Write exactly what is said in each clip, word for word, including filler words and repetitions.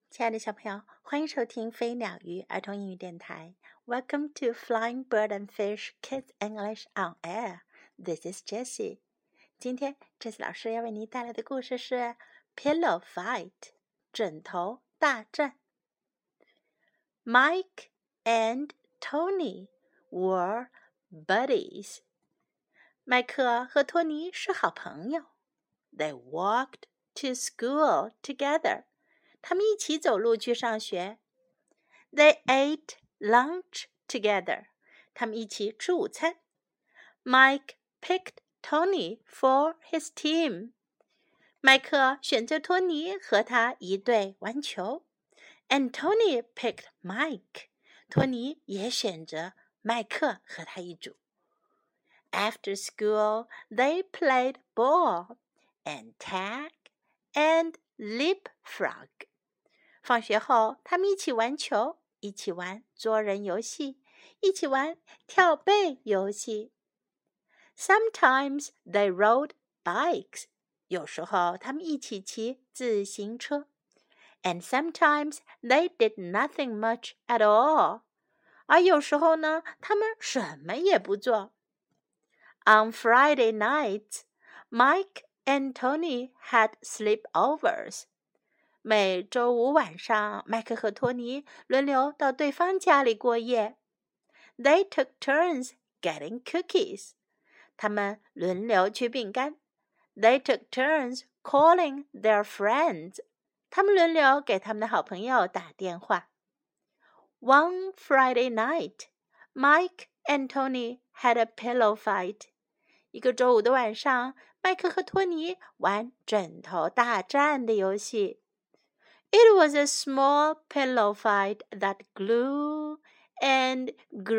亲爱的小朋友，欢迎收听飞鸟鱼儿童英语电台。Welcome to Flying Bird and Fish Kids English on Air. This is Jessie. 今天 Jessie 老师要为您带来的故事是 Pillow Fight 枕头大战。Mike and Tony were buddies. 麦克和托尼是好朋友。They walked to school together.他们一起走路去上学。They ate lunch together. 他们一起吃午餐。Mike picked Tony for his team. 麦克选择托尼和他一队玩球。And Tony picked Mike. 托尼也选择麦克和他一组。After school, they played ball and tag and leapfrog.放学后，他们一起玩球，一起玩捉人游戏，一起玩跳背游戏。Sometimes they rode bikes. 有时候他们一起骑自行车。And sometimes they did nothing much at all. 而有时候呢，他们什么也不做。On Friday nights, Mike and Tony had sleepovers.每周五晚上，麦克和托尼轮流到对方家里过夜。They took turns getting cookies. 他们轮流取饼干。They took turns calling their friends. 他们轮流给他们的好朋友打电话。One Friday night, Mike and Tony had a pillow fight. 一个周五的晚上，麦克和托尼玩枕头大战的游戏。It was a small pillow fight that grew and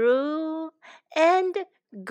grew and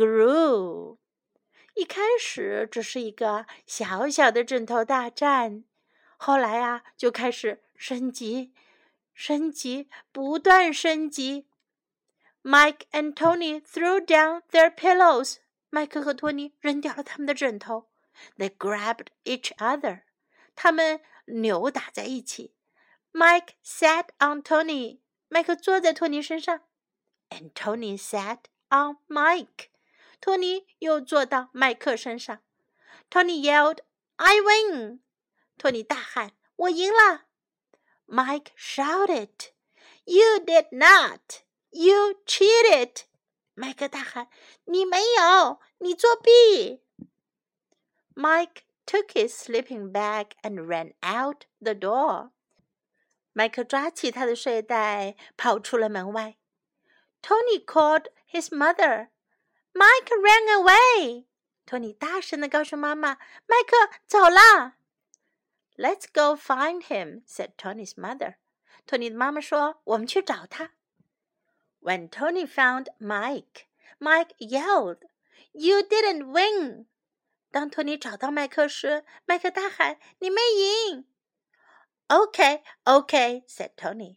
grew. 一开始只是一个小小的枕头大战，后来啊，就开始升级，升级，不断升级。Mike and Tony threw down their pillows. 麦克和托尼扔掉了他们的枕头。They grabbed each other. 他们扭打在一起。Mike sat on Tony. 麦克坐在托尼身上。And Tony sat on Mike. 托尼又坐到麦克身上。Tony yelled, I win. 托尼大喊，我赢了。Mike shouted, You did not. You cheated. 麦克大喊，你没有，你作弊。Mike took his sleeping bag and ran out the door.麦克抓起他的睡袋，跑出了门外。Tony called his mother. Mike ran away. 托尼大声地告诉妈妈，麦克走了。Let's go find him, said Tony's mother. 托尼的妈妈说，我们去找他。When Tony found Mike, Mike yelled, You didn't win. 当托尼找到麦克时，麦克大喊，你没赢。Okay, okay, said Tony.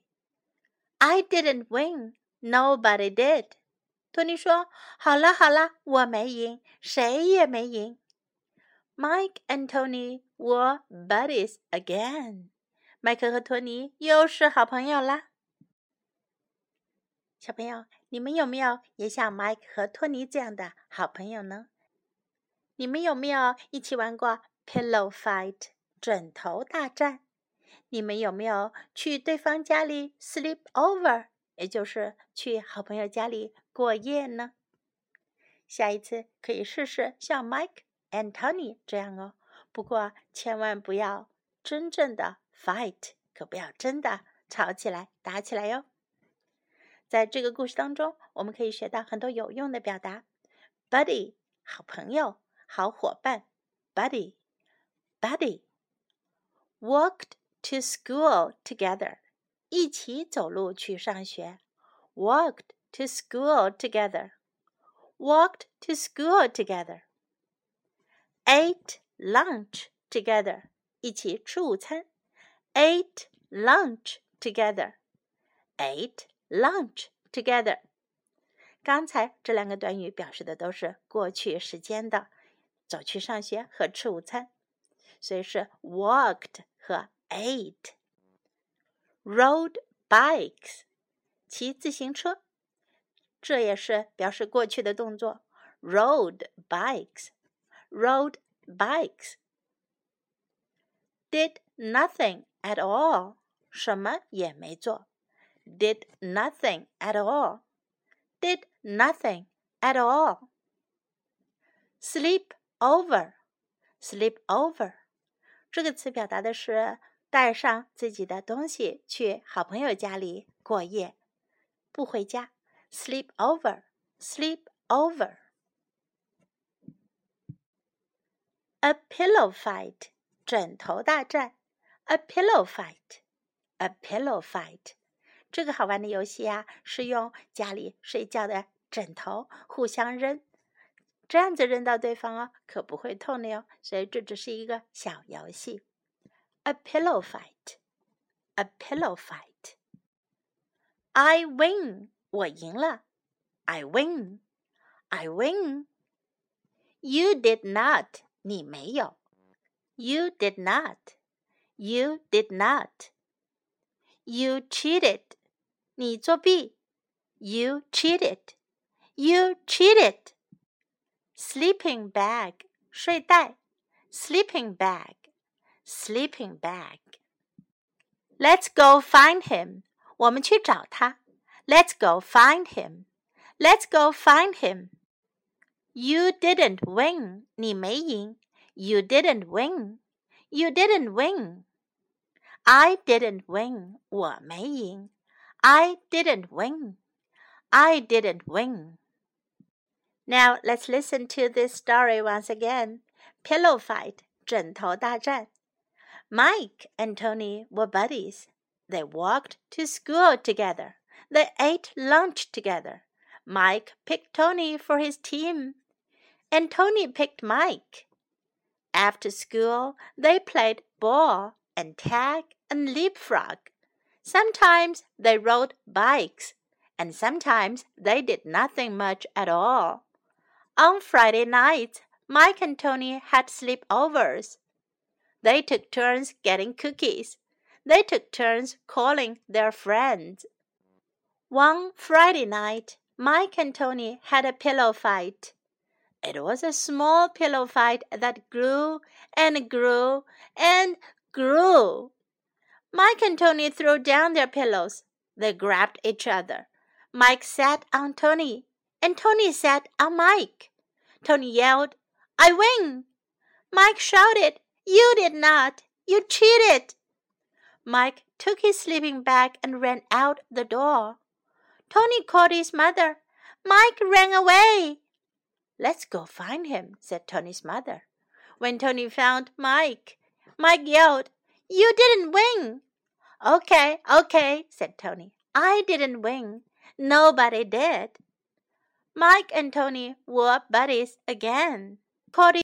I didn't win. Nobody did. 托尼说，好了好了，我没赢，谁也没赢。Mike and Tony were buddies again. 麦克和托尼又是好朋友啦。小朋友，你们有没有也像 Mike 和托尼这样的好朋友呢？你们有没有一起玩过 Pillow Fight 枕头大战？你们有没有去对方家里 sleep over， 也就是去好朋友家里过夜呢？下一次可以试试像 Mike and Tony 这样哦，不过千万不要真正的 fight， 可不要真的吵起来打起来哟。在这个故事当中，我们可以学到很多有用的表达。Buddy 好朋友，好伙伴。Buddy Buddy Walked to school together. 一起走路去上学。Walked to school together. Walked to school together. Ate lunch together. 一起吃午餐。Ate lunch together. Ate lunch together. 刚才这两个短语表示的都是过去时间的，走去上学和吃午餐，所以是 walked 和 ate. rode bikes， 骑自行车，这也是表示过去的动作。Rode bikes, rode bikes. Did nothing at all， 什么也没做。Did nothing at all, did nothing at all. Sleep over, sleep over， 这个词表达的是带上自己的东西去好朋友家里过夜，不回家。Sleep over, sleep over. A pillow fight， 枕头大战。A pillow fight, a pillow fight. 这个好玩的游戏啊，是用家里睡觉的枕头互相扔，这样子扔到对方哦，可不会痛的哟。所以这只是一个小游戏。A pillow fight, a pillow fight. I win， 我赢了。I win, I win. You did not， 你没有。You did not, you did not. You cheated， 你作弊。You cheated, you cheated. Sleeping bag， 睡袋。Sleeping bag, sleeping bag. Let's go find him， 我们去找他。Let's go find him, let's go find him. You didn't win， 你没赢。You didn't win, you didn't win. I didn't win， 我没赢。I didn't win, I didn't win. Now let's listen to this story once again. Pillow fight, 枕头大战。Mike and Tony were buddies. They walked to school together. They ate lunch together. Mike picked Tony for his team, and Tony picked Mike. After school, they played ball and tag and leapfrog. Sometimes they rode bikes, and sometimes they did nothing much at all. On Friday nights, Mike and Tony had sleepovers. They took turns getting cookies. They took turns calling their friends. One Friday night, Mike and Tony had a pillow fight. It was a small pillow fight that grew and grew and grew. Mike and Tony threw down their pillows. They grabbed each other. Mike sat on Tony, and Tony sat on Mike. Tony yelled, "I win!" Mike shouted, "You did not! You cheated!" Mike took his sleeping bag and ran out the door. Tony called his mother. Mike ran away. "Let's go find him," said Tony's mother. When Tony found Mike, Mike yelled, "You didn't win!" "Okay, okay," said Tony. "I didn't win. Nobody did." Mike and Tony were buddies again.